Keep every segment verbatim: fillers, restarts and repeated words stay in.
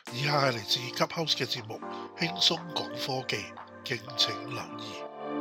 以下係嚟自 Clubhouse 嘅節目，輕鬆講科技，敬請留意。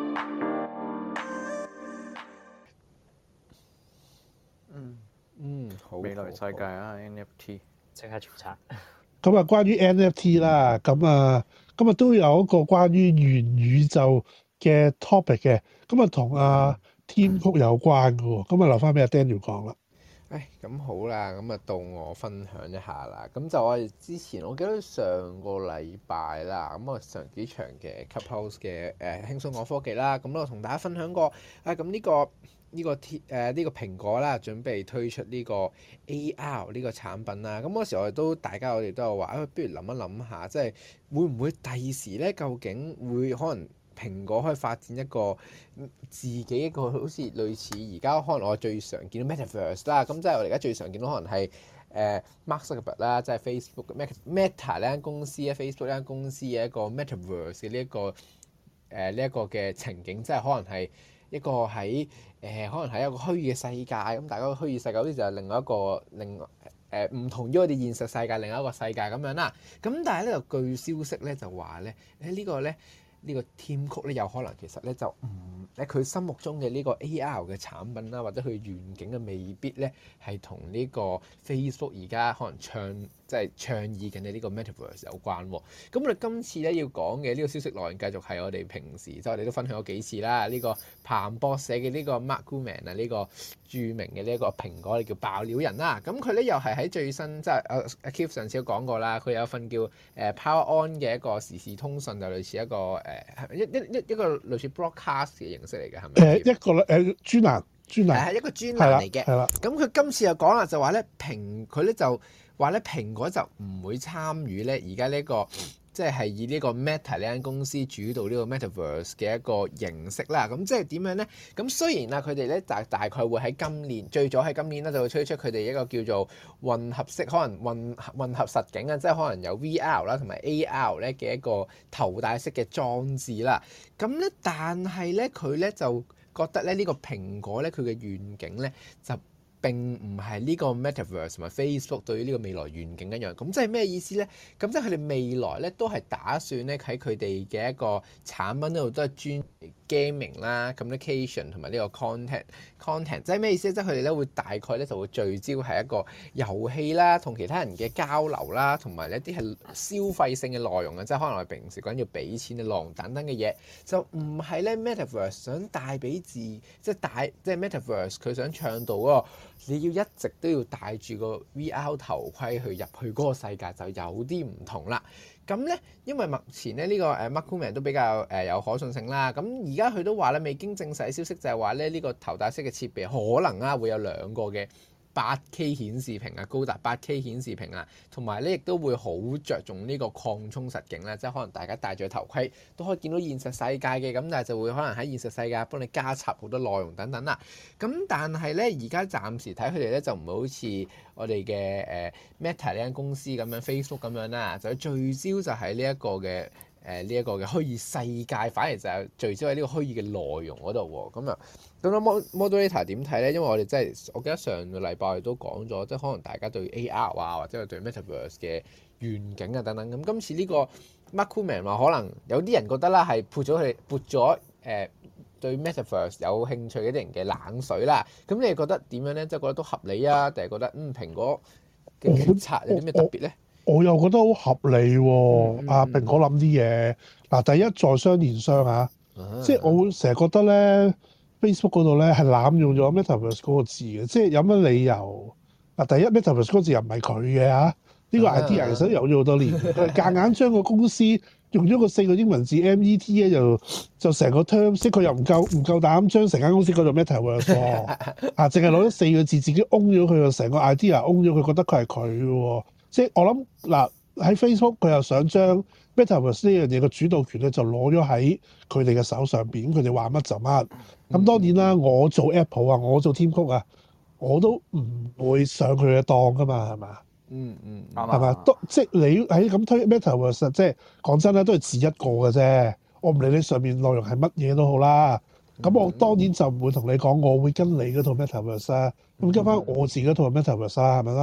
嗯嗯，好未來世界啊 ，N F T 即刻註冊。 咁啊，關於 N F T 啦，咁啊，今日都有一個關於元宇宙嘅 topic 嘅，咁啊同阿 Tim Cook 有關嘅喎，咁啊留翻俾阿 Daniel 講啦。 誒咁好啦，咁啊到我分享一下啦。咁就我哋之前，我記得上個禮拜啦，咁我上幾場嘅 Clubhouse 嘅誒輕鬆講科技啦，咁我同大家分享過啊。咁呢、呢個呢、呢個 T 誒呢個蘋果啦，準備推出呢個 A R 呢個產品啦。咁嗰時我哋都大家我哋都有話，啊不如諗一諗下，即係會唔會第時咧，究竟會可能蘋果可以發展一個自己一個好似類似而家可能我最常見到 Metaverse 啦，咁即係我哋而家最常見到可能係誒 Mark Zuckerberg 啦，即係 Facebook Meta 呢間公司咧 Facebook 呢間公司嘅一個 Metaverse 嘅呢一個誒呢一個嘅情景，即係可能係一個喺誒、呃、可能係一個虛擬嘅世界，咁大家個虛擬世界好似就係另外一個另外誒唔同於我哋現實世界另外一個世界咁樣啦。咁但係咧就據消息咧就話咧誒呢個咧。呢個 Tim Cook 咧有可能其實咧就唔喺佢心目中嘅呢個 A R 嘅產品啦，或者佢願景嘅未必咧係同呢個 Facebook 而家可能倡即係倡議緊嘅呢個 Metaverse 有關喎。咁我哋今次咧要講嘅呢個消息內容繼續係我哋平時即係我哋都分享咗幾次啦。呢、這個彭博社嘅呢個 Mark Gurman 啊，呢個著名嘅呢一個蘋果嘅叫爆料人啦。咁佢咧又係喺最新即係阿阿 Keith 上次都講過啦，佢有份叫誒 Power On 嘅一個時事通訊，就類似一個誒。一一一一個類似 broadcast 嘅形式嚟嘅，係咪？誒一個誒專欄專欄係一個專欄嚟嘅。 係啦。 咁佢今次又講啦，就話咧蘋佢咧就話咧蘋果就唔會參與咧而家呢個即係係以呢個 Meta 呢間公司主導呢個 Metaverse 嘅一個形式啦。咁即係點樣咧？咁雖然啊，佢哋咧大大概會喺今年最早喺今年咧就會推出佢哋一個叫做混合式，可能混混合實境啊，即係可能有 V R 啦同埋 A R 咧嘅一個頭戴式嘅裝置啦。咁咧，但係咧佢咧就覺得咧呢個蘋果咧佢嘅願景咧就並唔係呢個 Metaverse 同埋 Facebook 對於呢個未來願景一樣，咁即係咩意思咧？咁即係佢哋未來咧都係打算咧喺佢哋嘅一個產品度都係專 gaming 啦、communication 同埋呢個 content content， 即係咩意思咧？即係佢哋咧會大概咧就會聚焦係一個遊戲啦，同其他人嘅交流啦，同埋一啲係消費性嘅內容啊，即係可能我哋平時講要俾錢嘅內容等等嘅嘢，就唔係咧 Metaverse 想帶俾自即係帶即係 Metaverse 佢想倡導嗰個。你要一直都要戴住個 V R 頭盔去入去嗰個世界，就有啲唔同啦。咁咧，因為目前咧呢個誒 Mark Gurman 都比較誒有可信性啦。咁而家佢都話咧，未經證實嘅消息就係話咧，呢個頭戴式嘅設備可能啊會有兩個嘅八 K 顯示屏啊，高達八 K 顯示屏啊，同埋咧亦都會好着重呢個擴充實境啦，即係可能大家戴住頭盔都可以見到現實世界嘅，咁但係就會可能喺現實世界幫你加插好多內容等等啦。咁但係咧而家暫時睇佢哋咧就唔會好似我哋嘅誒 Meta 呢間公司咁樣 Facebook 咁樣啦，就聚焦就喺呢一個嘅。誒呢一個嘅虛擬世界，反而就係聚焦喺呢個虛擬嘅內容嗰度喎。咁啊，咁啊 Moderator 點睇咧？因為我哋真係，我記得上個禮拜我哋都講咗，即係可能大家對 A R 啊，或者係對 Metaverse 嘅願景啊等等。咁今次呢個 Mark Gurman 話，可能有啲人覺得啦，係潑咗佢哋潑咗誒對 Metaverse 有興趣嗰啲人嘅冷水啦。咁你哋覺得點樣咧？即係覺得都合理啊，定係覺得嗯蘋果嘅決策有啲咩特別咧？ 我又覺得好合理喎、啊，阿、嗯嗯、蘋果諗啲嘢嗱，第一在商言商啊，啊即係我會成日覺得咧 Facebook 嗰度咧係濫用咗 Metaverse 嗰個字嘅，即係有乜理由嗱？第一 Metaverse 嗰個字又唔係佢嘅嚇，呢、呢個 idea 其實有咗好多年，佢夾硬將個公司用咗個四個英文字 M E T 咧，就就成個 term， 即係佢又唔夠唔夠膽將成間公司叫做 Metaverse 喎，啊，淨係攞咗四個字自己 own 咗佢，就成個 idea own 咗佢，覺得佢係佢喎。即係我諗嗱喺 Facebook 佢又想將 Metaverse 呢樣嘢嘅主導權咧就攞咗喺佢哋嘅手上邊，佢哋話乜就乜。咁當然啦，我做 Apple 啊，我做 Tim Cook 啊，我都唔會上佢嘅當噶嘛，係嘛？ 嗯嗯， 係嘛？都即係你喺咁推 Metaverse，即係講真啦，都係字一個嘅啫。我唔理你上面內容係乜嘢都好啦。咁我當然就唔會同你講，我會跟你嗰套 Metaverse 啊，咁跟翻我自己嗰套 Metaverse 啊，係咪啦？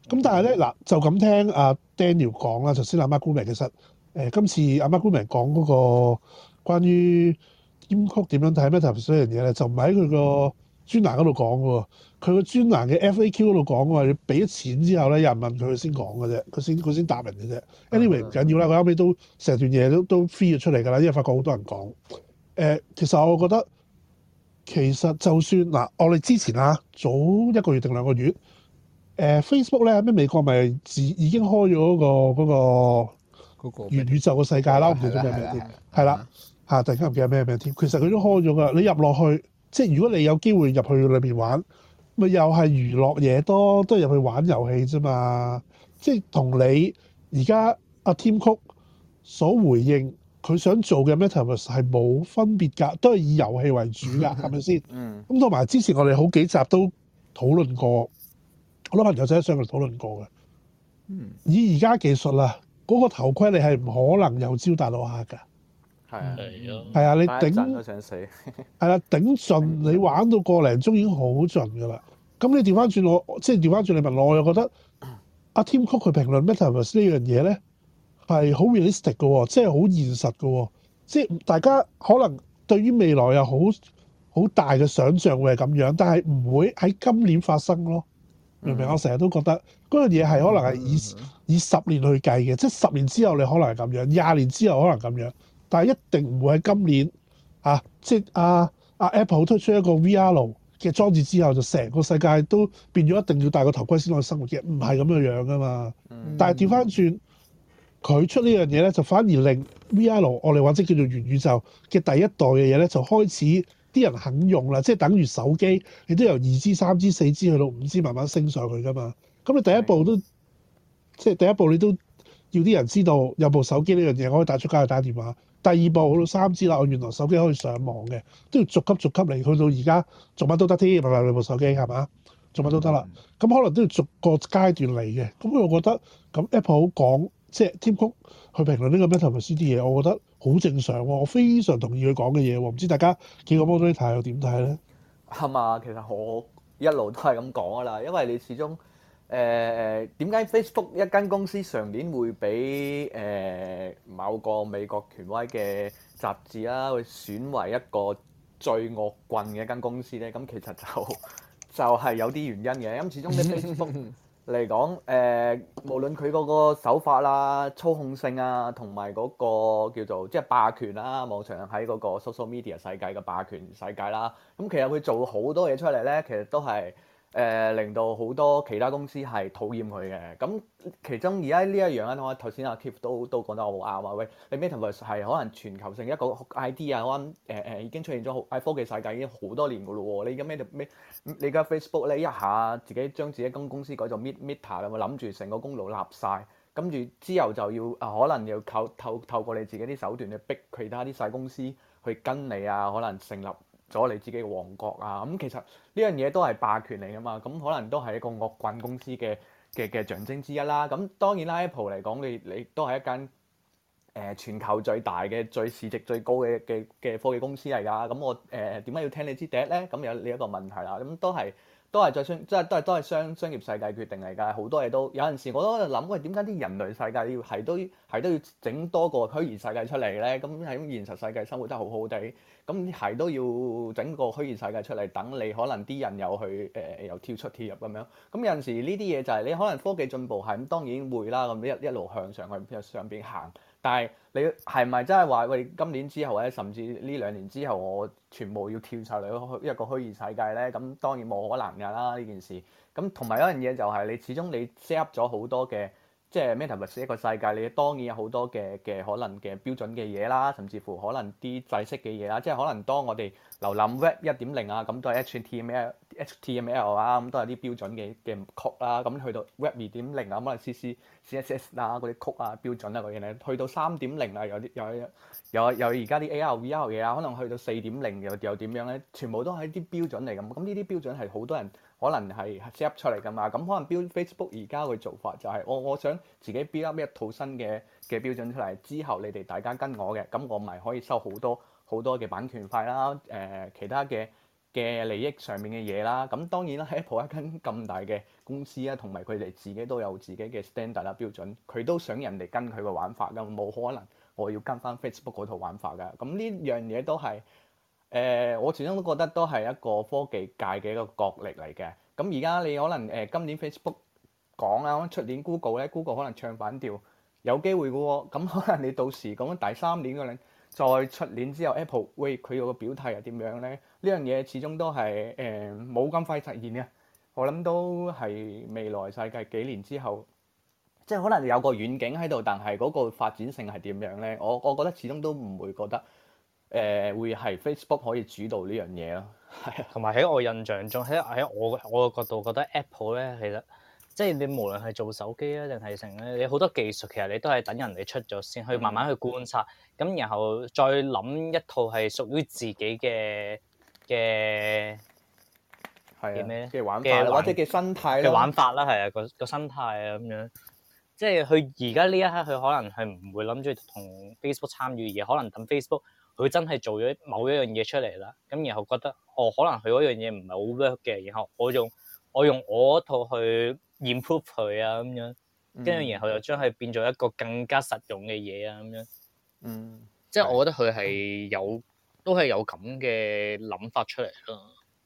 咁但係咧嗱，就咁聽阿 Daniel 講啦，頭先阿 Mark Gurman 其實誒、呃、今次阿 Mark Gurman 講嗰個關於 Tim Cook 點樣睇 Metaverse 呢樣嘢咧，就唔喺佢個專欄嗰度講嘅喎。佢個專欄嘅 F A Q 嗰度講嘅話，你俾咗錢之後咧，有人問佢，佢先講嘅啫，佢先佢先答人嘅啫。Anyway 唔緊要啦，佢後尾都成段嘢都都 free 咗出嚟㗎啦，因為發覺好多人講。誒、呃，其實我覺得其實就算嗱、呃，我哋之前啊，早一個月定兩個月，誒、呃、Facebook 咧，咩美國咪自已經開咗嗰、那個嗰個元宇宙嘅世界啦，我唔記得咗咩名添，係啦嚇，突然間唔記得咩名添。其實佢都開咗㗎，你入落去，即係如果你有機會入去裏邊玩。咪又係娛樂嘢多，都係入去玩遊戲啫嘛。即係同你而家阿 Tim Cook 所回應佢想做嘅 Metaverse 係冇分別㗎，都係以遊戲為主㗎，係咪先？嗯。咁同埋之前我哋好幾集都討論過，好多朋友仔上嚟討論過嘅。嗯。以而家技術啦，嗰、嗰個頭盔你係唔可能有招大到客㗎。係啊，係啊，你頂都想死， 係啦，頂盡你玩到個零鐘已經好盡㗎啦。咁你調翻轉我，即係調翻轉你問我，我又覺得阿 Tim Cook 佢評論 Metaverse 呢樣嘢咧係好 realistic 嘅喎，即係好現實嘅喎。即係大家可能對於未來有好好大嘅想像會係咁樣，但係唔會喺今年發生咯。明唔明？嗯、我成日都覺得嗰樣嘢係可能係以、嗯、以十年去計嘅，即係十年之後你可能係咁樣，廿年之後可能咁樣。但係一定唔會喺今年啊！即係阿阿 Apple 推出一個 V R 嘅裝置之後，就成個世界都變咗一定要戴個頭盔先可以生活嘅，唔係咁嘅樣噶嘛。嗯、但係調翻轉，佢出呢樣嘢咧，就反而令 V R 我哋或者叫做元宇宙嘅第一代嘅嘢咧，就開始啲人肯用啦。即係等於手機，你都由二 G、三 G、四 G 去到五 G 慢慢升上去噶嘛。咁你第一步都的即係第一步，你都要啲人知道有部手機呢樣嘢，我可以帶出街去打電話。第二步去到三 G 啦，我原來手機可以上網嘅，都要逐級逐級嚟，去到而家做乜都得添，係咪你部手機係嘛？做乜都得啦，咁、嗯、可能都要逐個階段嚟嘅。咁我覺得咁 Apple 講即係 Tim Cook 去評論呢個 Metaverse 啲嘢，我覺得好正常喎，我非常同意佢講嘅嘢喎。唔知大家幾個 moderator 又點睇咧？ 係嘛，其實我一路都係咁講噶啦，因為你始終。誒誒點解 Facebook 一間公司上年會俾誒、呃、某個美國權威嘅雜誌啦，去選為一個最惡棍嘅一間公司咧？咁其實就就係、是、有啲原因嘅。咁始終啲 Facebook 嚟講，誒、呃、無論佢嗰個手法啦、操控性啊，同埋嗰個叫做即係霸權啦，網上喺嗰個 social media 世界嘅霸權世界啦，咁其實佢做好多嘢出嚟咧，其實都係。誒、呃、令到好多其他公司係討厭佢嘅，咁其中而家呢一樣咧，我頭先阿 Keith 都都講得好啱啊！喂，你 Metaverse 係可能全球性一個 idea，我諗誒誒已經出現咗喺科技世界已經好多年噶咯喎，你而家咩咩你而家 Facebook 咧一下自己將自己間公司改做 Meta 啦，我諗住成個功勞立晒，跟住之後就要啊可能要靠透透過你自己啲手段去逼其他啲細公司去跟你啊，可能成立咗你自己嘅王國啊，咁其實呢樣嘢都係霸權嚟噶嘛，咁可能都係一個惡棍公司嘅嘅嘅象徵之一啦。咁當然啦 ，Apple 嚟講，你你都係一間誒、呃、全球最大嘅、最市值最高嘅嘅嘅科技公司嚟㗎。咁我誒點解要聽你支笛咧？咁有呢一個問題啦。咁都係都係在商，即係都係都係商商業世界決定嚟㗎。好多嘢都有陣時我都喺度諗，喂點解啲人類世界要係都係都要整多個虛擬世界出嚟咧？咁喺現實世界生活得好好地。咁係都要整個虛擬世界出嚟，等你可能啲人又去誒、呃、又跳出跳入咁樣。咁有陣時呢啲嘢就係你可能科技進步係咁，當然會啦。咁一一路向上去上邊行，但係你係咪真係話喂今年之後或者甚至呢兩年之後，我全部要跳晒嚟一個虛擬世界咧？咁當然冇可能㗎啦呢件事。咁同埋一樣嘢就係你始終你 set up 咗好多嘅。即係 Metaverse 一個世界，你當然有好多嘅嘅可能嘅標準嘅嘢啦，甚至乎可能啲制式嘅嘢啦。即係可能當我哋瀏覽 Web 一點零啊，咁都係 H T M L、H T M L 啊，咁都係啲標準嘅嘅曲啦。咁去到 Web 二點零啊，可能 C C、C S S 啊嗰啲曲啊標準啊嗰啲咧，去到三點零啊，有啲有有有而家啲 A R、V R 嘢啊，可能去到四點零又又點樣咧？全部都係啲標準嚟咁。咁呢啲標準係好多人。可能係 set up 出嚟㗎嘛，咁可能 build Facebook 而家嘅做法就係、是、我我想自己 build up 一套新嘅嘅標準出嚟，之後你哋大家跟我嘅，咁我咪可以收好多好多嘅版權費啦，誒、呃、其他嘅嘅嘅利益上面嘅嘢啦。咁當然啦 ，Apple 一間咁大嘅公司啊，同埋佢哋自己都有自己嘅 standard 啦標準，佢都想人哋跟佢個玩法㗎，冇可能我要跟翻 Facebook 嗰套玩法㗎。咁呢樣嘢都係誒、呃，我始終都覺得都係一個科技界嘅一個角力嚟嘅。咁而家你可能誒、呃、今年 Facebook 講啦，出年 Google 咧 ，Google 可能唱反調，有機會嘅喎。咁可能你到時講緊第三年嗰陣，再出年之後 Apple 喂佢個表態係點樣咧？呢樣嘢始終都係誒冇咁快實現嘅。我諗都係未來世界幾年之後，即係可能有個遠景喺度，但係嗰個發展性係點樣咧？我我覺得始終都唔會覺得誒、呃、會係 Facebook 可以主導呢樣嘢咯。係啊， 同埋喺我印象中，喺喺我我嘅角度覺得 Apple 咧，其實即係你無論係做手機啊定係成咧，你好多技術其實你都係等人哋出咗先，去慢慢去觀察，咁、嗯、然後再諗一套係屬於自己嘅嘅嘅咩嘅玩法或者嘅生態嘅玩法啦，係啊，個個生態啊咁樣。即係佢而家呢一刻，佢可能係唔會諗住同 Facebook 參與嘢，可能等 Facebook 佢真係做咗某一樣嘢出嚟啦，咁然後覺得哦，可能佢嗰樣嘢唔係好 work 嘅，然後我用我用我套去 improve 佢啊咁樣，跟住、嗯、然後又將佢變做一個更加實用嘅嘢啊咁樣。嗯，即係我覺得佢係有都係有咁嘅諗法出嚟咯。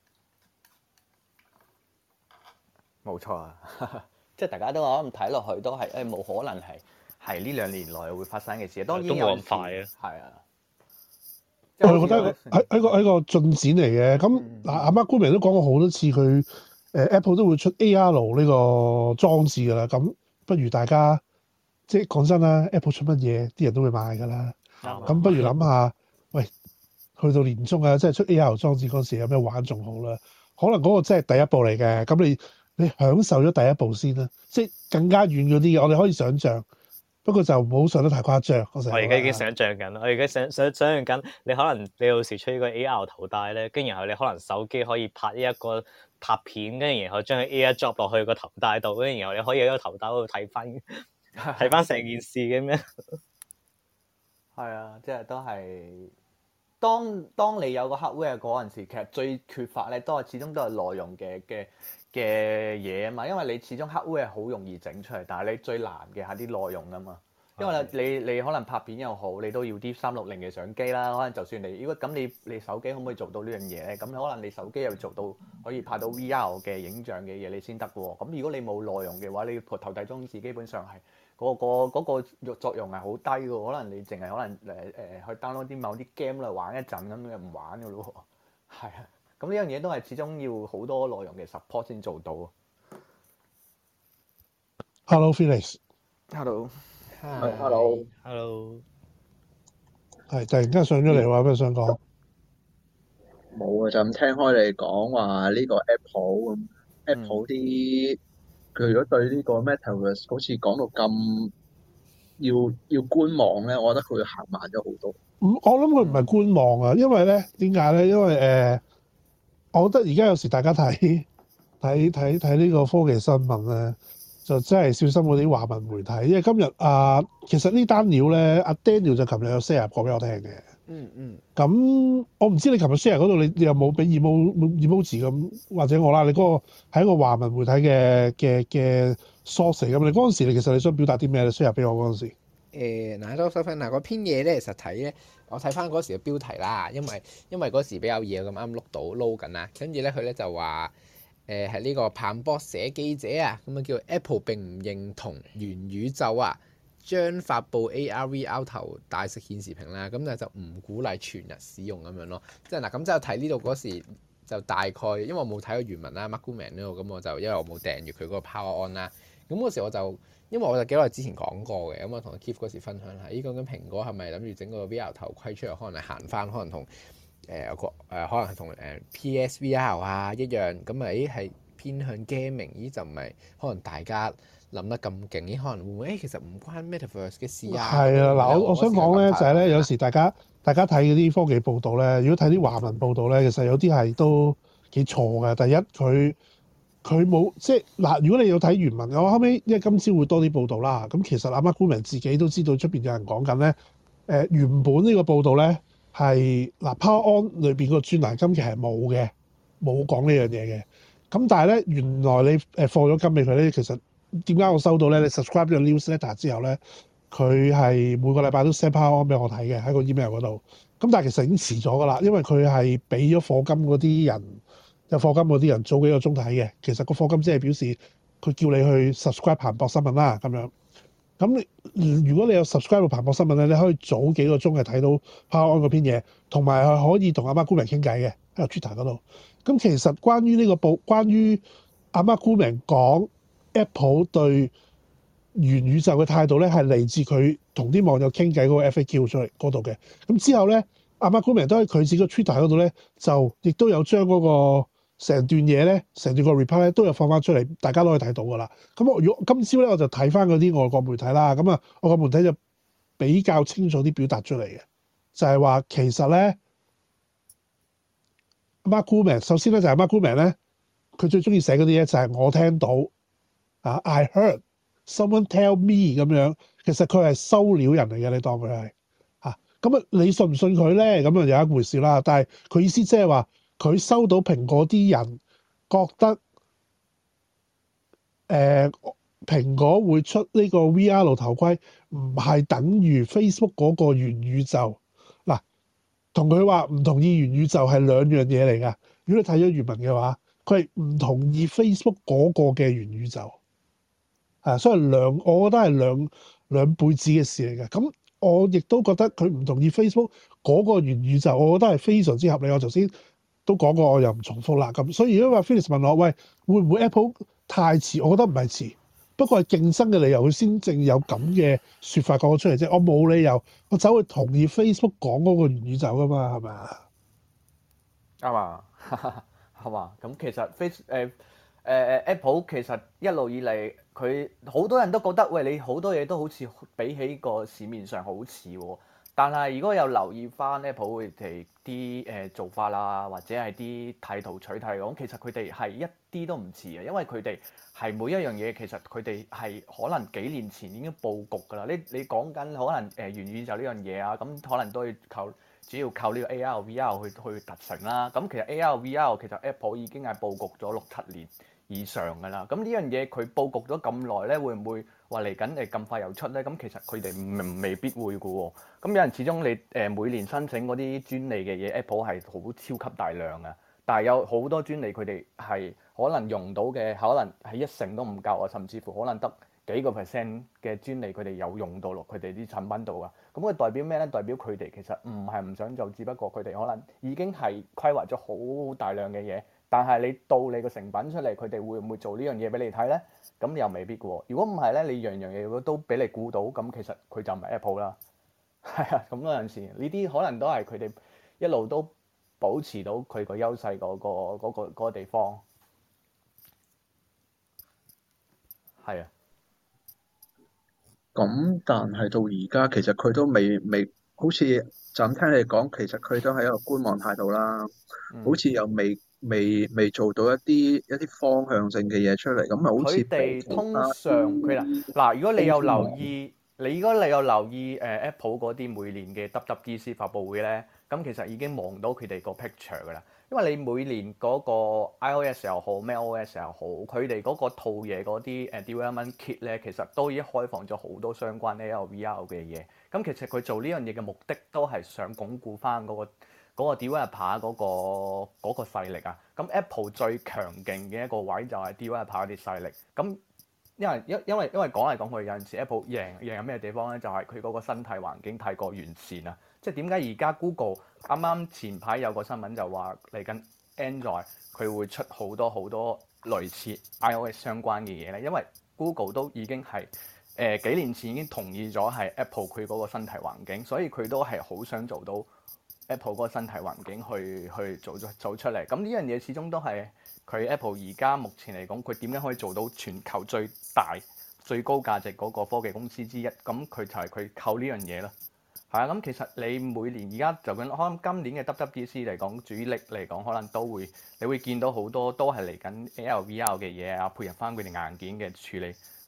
冇錯啊，即係大家都可能睇落去都係誒冇可能係係呢兩年內會發生嘅事，當然有都冇咁快啊。係啊， 我係覺得係係個係個進展嚟嘅。咁嗱，阿 Mark Gurman 都講過好多次，佢誒 Apple 都會出 A R 呢個裝置㗎啦。咁不如大家即係講真啦 ，Apple 出乜嘢，啲人都會買㗎啦。咁、嗯、不如諗下，喂，去到年中啊，即係出 A R 裝置嗰時有咩玩仲好啦？可能嗰個真係第一步嚟嘅。咁你你享受咗第一步先啦，即係更加遠嗰啲嘅，我哋可以想像。不過就唔好上得太誇張。我而家已經想像緊，我而家想想想像緊，你可能你有時出呢個 A R 頭戴咧，跟然後你可能手機可以拍呢一個拍片，跟住然後將佢 A R drop 落去個頭戴度，跟住然後你可以喺個頭戴度睇翻睇翻成件事嘅咩？ 係啊，即係都係當當你有個 hardware 嗰陣時，其實最缺乏咧都係始終都係內容嘅嘅嘅嘢啊嘛，因為你始終 hardware 好容易整出嚟，但係你最難嘅係啲內容啊嘛。因為你你可能拍片又好，你都要啲三六零嘅相機啦。可能就算你如果咁你你手機可唔可以做到呢樣嘢咧？咁可能你手機又做到可以拍到 V R 嘅影像嘅嘢你先得喎。咁如果你冇內容嘅話，你頭戴裝置基本上係嗰個嗰個作用係好低嘅。可能你淨係可能誒誒去 download 啲某啲 game 嚟玩一陣咁就唔玩嘅咯喎。係啊。咁呢樣嘢都係始終要好多內容嘅 support 先做到。 Hello Felix。 Hello。 Hello。 Hello。 係突然間上咗嚟話咩想講？ 冇啊，就咁聽開你講話呢個 Apple 咁、嗯、，Apple 啲佢如果對呢個 Metaverse 好似講到咁要要觀望咧，我覺得佢會行慢咗好多。 唔，我諗佢唔係觀望啊，因為咧點解咧？因為誒。呃我覺得而家有時大家睇睇睇睇呢個科技新聞咧，就真係小心嗰啲華文媒體，因為今日啊，其實呢單料咧，阿 Daniel 就琴日有 share 過俾我聽嘅。嗯嗯。咁我唔知你琴日 share 嗰度，你你有冇俾 emo emoji 咁，或者我啦，你嗰個係一個華文媒體嘅嘅嘅 source 嚟咁，你嗰陣時你其實你想表達啲咩？你 share 俾我嗰陣時。 誒嗱，多收分嗱，嗰篇嘢咧實睇咧，我睇翻嗰時嘅標題啦，因為因為嗰時比較夜咁啱碌到撈緊啦，跟住咧佢咧就話誒係呢個彭博社記者啊，咁啊叫 Apple 並唔認同元宇宙啊，將發布 A R V R 頭戴式顯示屏啦，咁但係就唔鼓勵全日使用咁樣咯，即係嗱咁即係睇呢度嗰時就大概，因為我冇睇過原文啦 Mark Gurman 呢度，咁我就因為我冇訂閱佢嗰個 Power On 啦，咁嗰時我就。因為我就幾耐之前講過嘅，咁我同 Keith 嗰時分享下，咦講緊蘋果係咪諗住整個 V R 頭盔出嚟，可能係行翻，可能同誒個誒可能係同誒 P S V R 啊一樣，咁啊咦係偏向 gaming，咦就唔係可能大家諗得咁勁，咦可能會唔會誒其實唔關 Metaverse 嘅事啊？係啊，嗱我我想講咧就係咧，有時大家大家睇嗰啲科技報道咧，如果睇啲華文報道咧，其實有啲係都幾錯嘅。第一佢。佢冇即係嗱，如果你有睇原文，我後尾因為今朝會多啲報道啦。咁其實阿 Mark Gurman自己都知道出邊有人講緊咧。誒原本呢個報道咧係嗱 Power On 裏邊個專欄今期係冇嘅， 冇講呢樣嘢嘅。咁但係咧，原來你誒放咗金俾佢咧，其實點解我收到咧？你 subscribe 咗個 newsletter 之後咧，佢係每個禮拜都 send power on 俾我睇嘅喺個 email 嗰度。咁但係其實已經遲咗㗎啦，因為佢係俾咗課金嗰啲人，有課金嗰啲人早幾個鐘睇嘅。其實個課金即係表示佢叫你去 subscribe 彭博新聞啦咁樣。咁你如果你有 subscribe 彭博新聞咧，你可以早幾個鐘係睇到 power on 嗰篇嘢，同埋係可以同阿媽姑明傾偈嘅喺個 Twitter 嗰度。咁其實關於呢個報，關於阿媽姑明講 Apple 對元宇宙嘅態度咧，係嚟自佢同啲網友傾偈嗰個 F A Q 出嚟嗰度嘅。咁之後咧，阿媽姑明都喺佢自己個 Twitter 嗰度咧，就亦都有將嗰個成段嘢咧，成段個 reply 咧都有放翻出嚟，大家都可以睇到噶啦。咁我如果今朝咧，我就睇翻嗰啲外國媒體啦。咁啊，外國媒體就比較清楚啲表達出嚟嘅，就係話其實咧。阿媽姑明首先咧就係阿媽姑明咧，佢最中意寫嗰啲嘢就係我聽到啊 ，I heard someone tell me 咁樣，其實佢係收料人嚟嘅，你當佢係嚇咁啊？你信唔信佢咧？咁啊有一回事啦。但係佢意思即係話佢收到蘋果啲人覺得誒、呃、蘋果會出呢個 V R 頭盔，唔係等於 Facebook 嗰個元宇宙嗱。同佢話唔同意元宇宙係兩樣嘢嚟㗎。如果你睇咗原文嘅話，佢係唔同意 Facebook 嗰個嘅元宇宙，啊，所以兩我覺得係兩兩輩子嘅事嚟嘅。咁我亦都覺得佢唔同意 Facebook 嗰個元宇宙，我覺得係非常之合理。我頭先都講過，我又唔重複啦。咁所以如果話 Felix 問我，喂，會唔會 Apple 太遲？我覺得唔係遲。不過係競爭嘅理由，佢先正有咁嘅説法講咗出嚟啫。我冇理由我走去同意 Facebook 講嗰個元宇宙噶嘛，係咪啊？ 啱啊，係嘛？咁其實 Face 誒誒誒 Apple 其實一路以嚟，佢好多人都覺得，喂，你好多嘢都好似比起個市面上好似喎。但係如果有留意翻 Apple 佢哋啲誒做法啦，或者係啲睇圖取態講，其實佢哋係一啲都唔似嘅，因為佢哋係每一樣嘢其實佢哋係可能幾年前已經佈局㗎啦。你你講緊可能誒元宇宙呢樣嘢啊，咁可能都要靠主要靠呢個 A R V R 去去達成啦。咁其實 A R V R 其實 Apple 已經係佈局咗六七年以上㗎啦。咁呢樣嘢佢佈局咗咁耐咧，會唔會話嚟緊誒咁快又出咧？咁其實佢哋未必會㗎喎。咁有人始終你誒每年申請嗰啲專利嘅嘢 ，Apple 係好超級大量啊。但係有好多專利佢哋係可能用到嘅，可能係一成都唔夠啊，甚至乎可能得幾個 percent 嘅專利佢哋有用到落佢哋啲產品度啊。咁佢代表咩咧？代表佢哋其實唔係唔想做，只不過佢哋可能已經係規劃咗好大量嘅嘢。但係你到你個成品出嚟，佢哋會唔會做呢樣嘢俾你睇咧？咁又未必嘅喎。如果唔係咧，你樣樣嘢如果都俾你估到，咁其實佢就唔係 Apple 啦。係啊，咁嗰陣時呢啲可能都係佢哋一路都保持到佢個優勢嗰個嗰個嗰個地方。係啊。 咁但係到而家其實佢都未未，好似就咁聽你講，其實佢都係一個觀望態度啦。 嗯、 好似又未未未做到一啲一啲方向性嘅嘢出嚟，咁啊好似佢哋通常佢啦嗱，如果你有留意，你如果你有留意誒、呃、Apple 嗰啲每年嘅 W W D C 發佈會咧，咁其實已經望到佢哋個 picture 㗎啦。因為你每年嗰個 iOS 又好，macOS 又好，佢哋嗰個套嘢嗰啲誒 development kit 咧，其實都已經開放咗好多相關 A R V R 嘅嘢。咁其實佢做呢樣嘢嘅目的都係想鞏固翻、那、嗰個。嗰個 developer 嗰個嗰個勢力啊，咁 Apple 最強勁嘅一個位就係 developer 啲勢力。咁因為因因為因為講嚟講去有陣時 Apple 贏贏喺咩地方咧？就係佢嗰個生態環境太過完善啊！即係點解而家 Google 啱啱前排有個新聞就話嚟緊 Android 佢會出好多好多類似 iOS 相關嘅嘢咧？因為 Google 都已經係誒、呃、幾年前已經同意咗係 Apple 佢嗰個生態環境，所以佢都係好想做到。Apple 嗰個生態環境去去做咗做出嚟，咁呢樣嘢始終都係佢 Apple 而家目前嚟講，佢點樣可以做到全球最大最高價值嗰個科技公司之一？咁佢就係佢靠呢樣嘢咯。係啊，咁其實你每年而家就咁，可能今年嘅 W W D C 嚟講，主力嚟講，可能都會你會見到好多都係嚟緊 A R V R 嘅嘢啊，配合翻佢哋硬件嘅處理，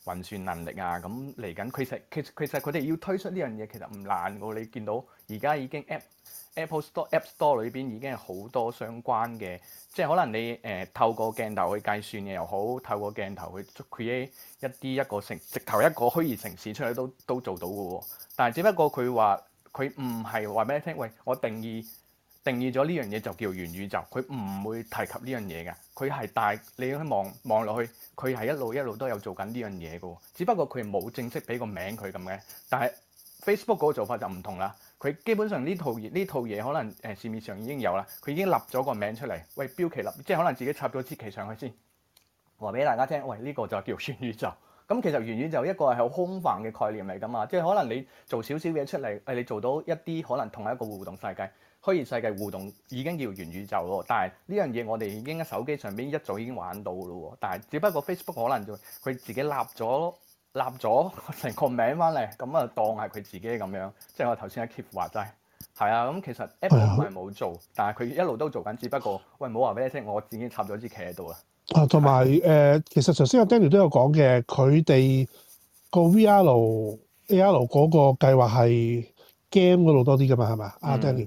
運算能力啊，咁嚟緊其實其實其實佢哋要推出呢樣嘢其實唔難㗎，你見到而家已經 App Apple Store App Store 裏邊已經係好多相關嘅，即係可能你誒、呃、透過鏡頭去計算嘅又好，透過鏡頭去 create 一啲一個城直頭一個虛擬城市出嚟都都做到嘅喎，但係只不過佢話佢唔係話俾你聽，喂，我定義。定義咗呢樣嘢就叫元宇宙，佢唔會提及呢樣嘢嘅，佢係大你去望望落去，佢係一路一路都有做緊呢樣嘢嘅喎，只不過佢冇正式俾個名佢咁嘅。但係 Facebook 嗰個做法就唔同啦，佢基本上呢套呢套嘢可能誒、呃、市面上已經有啦，佢已經立咗個名出嚟，喂，標旗立，即係可能自己插咗支旗上去先，話俾大家聽，喂，呢、呢個就叫元宇宙。咁其實元宇宙一個係好空泛嘅概念嚟㗎嘛，即係可能你做少少嘢出嚟，誒你做到一啲可能同一個互動世界。虛擬世界互動已經叫元宇宙咯，但係呢樣嘢我哋已經喺手機上邊一早已經玩到咯，但係只不過 Facebook 可能就佢自己立咗立咗成個名翻嚟，咁啊當係佢自己咁樣，即係我頭先阿 Keith 話齋，係啊，咁其實 Apple 唔係冇做，但係佢一路都做緊，只不過喂冇話俾你聽，我自己插咗支旗喺度啦。 啊，同埋誒，其實頭先阿 Daniel 都有講嘅，佢哋個 V R A R 嗰個計劃係 game 嗰度多啲㗎嘛，係咪啊？阿 Daniel。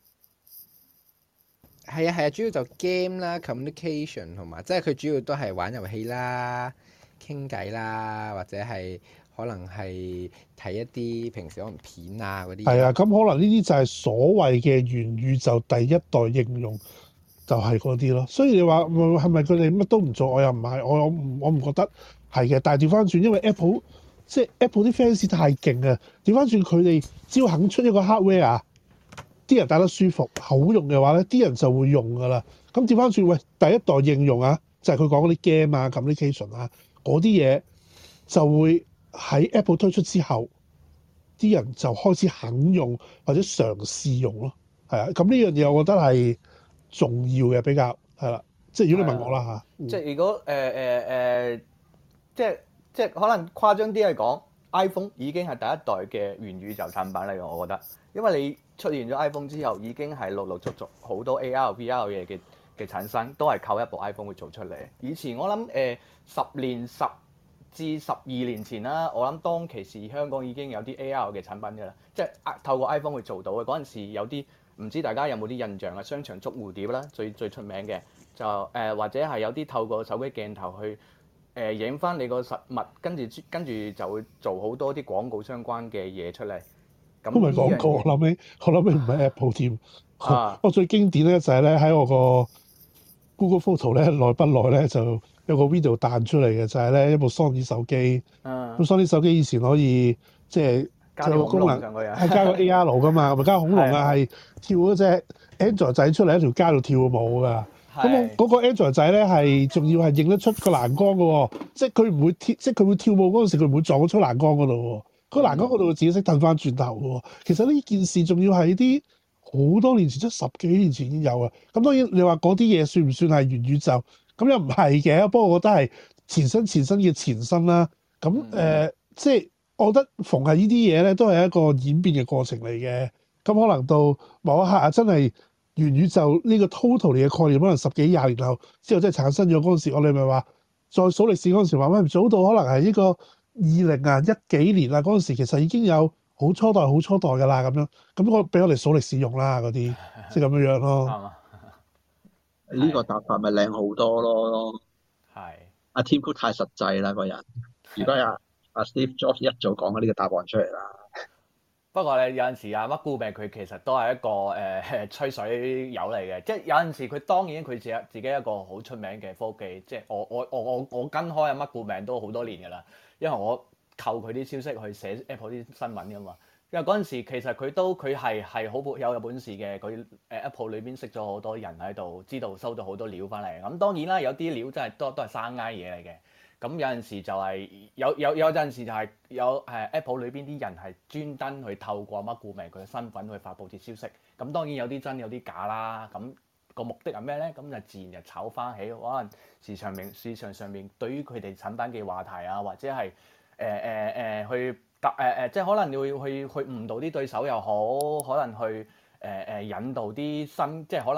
係啊係啊，主要就 game 啦、communication 同埋，即係佢主要都係玩遊戲啦、傾偈啦，或者係可能係睇一啲平時可能片啊嗰啲。係啊，咁可能呢啲就係所謂嘅元宇宙第一代應用，就係嗰啲咯。所以你話係咪佢哋乜都唔做？我又唔係，我我唔我唔覺得係嘅。但係調翻轉，因為 Apple 即係 Apple 啲 fans 太勁啊！調翻轉佢哋只要肯出一個 hardware 啊。啲人戴得舒服、好用嘅話咧，啲人就會用噶啦。咁調翻轉，喂，第一代應用啊，就係佢講嗰啲 game 啊、communication 啊嗰啲嘢，就會喺 Apple 推出之後，啲人就開始肯用或者嘗試用咯。係啊，咁呢樣嘢我覺得係重要嘅，比較係啦。即係如果你問我啦嚇， 嗯、即係如果誒誒誒，即係即係可能誇張啲嚟講 ，iPhone 已經係第一代嘅元宇宙產品嚟嘅，我覺得，因為你。出現咗 iPhone 之後，已經係陸陸續續好多 A R、V R 嘢嘅嘅產生，都係靠一部 iPhone 會做出嚟。以前我諗誒、呃、十年十至十二年前啦，我諗當其時香港已經有啲 A R 嘅產品㗎啦，即係透過 iPhone 去做到嘅。嗰陣時有啲唔知大家有冇啲印象啊？商場捉蝴蝶啦，最最出名嘅就誒、呃，或者係有啲透過手機鏡頭去誒影翻你個實物，跟住跟住就會做好多啲廣告相關嘅嘢出嚟。 都未講過，我諗起，我諗起唔係 Apple 添。 啊、 我最經典咧就係咧喺我個 Google Photo 咧，耐不耐咧就有個 video 彈出嚟嘅，就係、是、咧一部 Sony 手機。咁、啊、Sony 手機以前可以即係加個功能上去啊， 係加個 A R 噶嘛，咪加個恐龍啊，係跳嗰隻 Android 仔出嚟喺條街度跳舞㗎。咁我嗰個 Android 仔咧係仲要係認得出個欄杆嘅喎，即係佢唔會跳，即係佢會跳舞嗰陣時佢唔會撞咗出欄杆嗰度喎。個欄杆嗰度自己識褪翻轉頭喎，其實呢件事仲要係啲好多年前，即係十幾年前已經有啊。咁當然你話嗰啲嘢算唔算係元宇宙？咁又唔係嘅，不過我覺得係前身前身嘅前身啦。咁誒、呃，即係我覺得逢係呢啲嘢咧，都係一個演變嘅過程嚟嘅。咁可能到某一刻啊，真係元宇宙呢個 total 嘅概念，可能十幾廿年後之後真係產生咗嗰陣時，我哋咪話再數歷史嗰陣時話咩？早到可能係呢個。二零啊一幾年啊嗰陣時，其實已經有好初代、好初代㗎啦，咁樣咁我俾我哋數歷史用啦，嗰啲即係咁樣樣咯。 呢個答法咪靚好多咯。 係阿 Tim Cook 太實際啦個人。如果阿阿 Steve Jobs 一早講咗呢個答案出嚟啦。 不過咧有陣時阿 Mark Gurman 佢其實都係一個誒、呃、吹水友嚟嘅，即係有陣時佢當然佢自己自己一個好出名嘅科技，即係我我我我我跟開阿 Mark Gurman都好多年㗎啦。因為我扣佢啲消息去寫 Apple 啲新聞㗎嘛，因為嗰陣時其實佢都佢係係好有有本事嘅，佢誒 Apple 裏邊識咗好多人喺度，知道收到好多料翻嚟。咁當然啦，有啲料真係都都係生挨嘢嚟嘅。咁有陣時就係、是、有有有陣時就係有誒 Apple 裏邊啲人係專登去透過 Mark Gurman佢嘅身份去發布啲消息。咁當然有啲真有啲假啦。咁個目的係咩咧？咁就自然就炒翻起，可能市場面市場上面對於佢哋產品嘅話題啊，或者係誒誒誒去答誒誒，即係可能你會去去誤導啲對手又好，可能去誒誒、呃、引導啲新，即係可能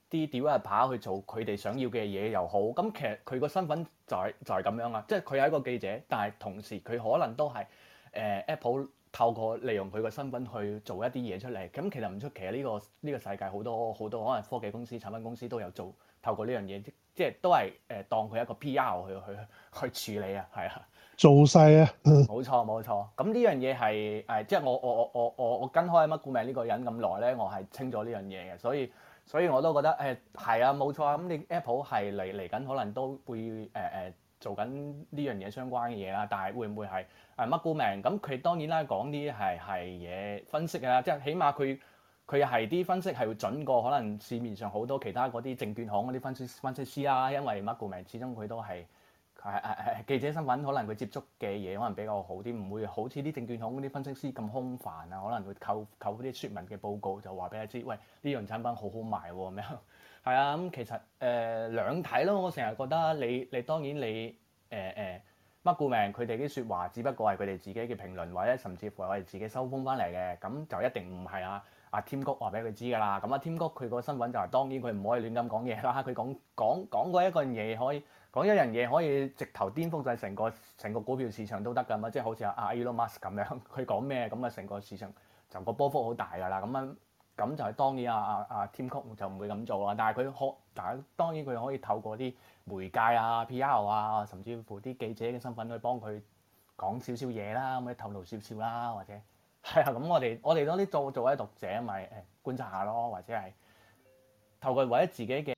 啲 developer 去做佢哋想要嘅嘢又好，咁其實佢個身份就係、就係、咁樣啊，即係佢係一個記者，但係同時佢可能都係誒、呃、Apple 透過利用佢個身份去做一啲嘢出嚟，咁其實唔出奇啊！呢、呢個呢、呢個世界好多好多可能科技公司、產品公司都有做透過呢樣嘢，即係都係誒、呃、當佢一個 P R 去去去處理啊，係啊。 做勢啊！ 冇錯冇錯，咁呢樣嘢係誒，即係我我我我我我跟開乜顧名呢個人咁耐咧，我係清咗呢樣嘢嘅，所以所以我都覺得誒係啊冇錯啊，咁你 Apple 係嚟嚟緊可能都會誒誒、呃、做緊呢樣嘢相關嘅嘢啦，但係會唔會係誒乜顧名？咁佢當然啦，講啲係係嘢分析㗎啦，即係起碼佢佢係啲分析係會準過可能市面上好多其他嗰啲證券行嗰啲分析分析師啦，因為乜顧名始終佢都係。係係係記者身份，可能佢接觸嘅嘢可能比較好啲，唔會好似啲證券行嗰啲分析師咁空泛啊。可能會扣扣啲説明嘅報告，就話俾你知，喂呢樣產品好好賣喎咁樣。係啊，咁其實誒、呃、兩睇咯。我成日覺得你你當然你誒誒乜顧名，佢哋啲説話只不過係佢哋自己嘅評論，或者甚至乎係我哋自己收風翻嚟嘅，咁就一定唔係啊。阿 Tim Cook 話俾佢知㗎啦，咁阿 Tim Cook佢個身份就係、是、當然佢唔可以亂咁講嘢啦。佢講講講過一個嘢可以講一樣嘢可以直頭顛覆晒成個成個股票市場都得㗎嘛，即係好似阿阿 Elon Musk 咁樣，佢講咩咁啊，成個市場就個波幅好大㗎啦。咁樣咁就係當然阿阿阿 Tim Cook 就唔會咁做啦。但係佢可但係當然佢可以透過啲媒介啊、P R 啊，甚至乎啲記者嘅身份去幫佢講少少嘢啦，咁樣透露少少啦，或者。係啊，咁我哋我哋多啲做做啲讀者咪誒觀察下咯，或者係透過為咗自己嘅。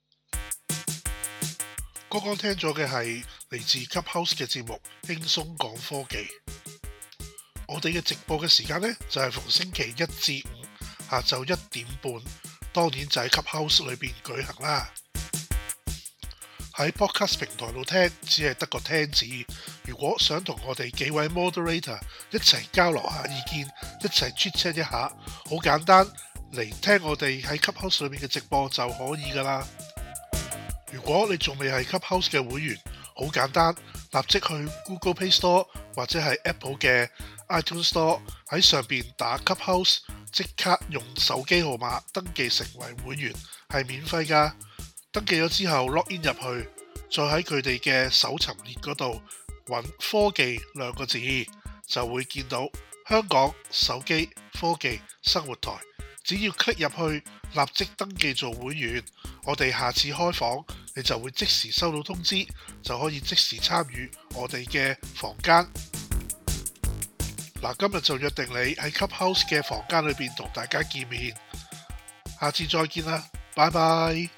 剛剛聽咗嘅係嚟自 Clubhouse 嘅節目輕鬆講科技。我哋嘅直播嘅時間呢，就係逢星期一至五下晝一點半，當然就喺 Clubhouse 裏邊舉行啦。喺 Podcast 平台度聽，只係得個聽字。如果想同我哋幾位 Moderator 一齊交流下意見，一齊 chat chat 一下，好簡單，嚟聽我哋喺 Clubhouse 裏面嘅直播就可以噶啦。如果你仲未係 Clubhouse 嘅會員，好簡單，立即去 Google Play Store 或者係 Apple 嘅 iTunes Store 喺上邊打 Clubhouse，即刻用手機號碼登記成為會員，係免費噶。登記咗之後 log in 入去，再喺佢哋嘅搜尋列嗰度揾科技兩個字，就會見到香港手機科技生活台。只要 click 入去，立即登記做會員，我哋下次開房，你就會即時收到通知，就可以即時參與我哋嘅房間。嗱，今日就約定你喺 Clubhouse 嘅房間裏邊同大家見面，下次再見啦，拜拜。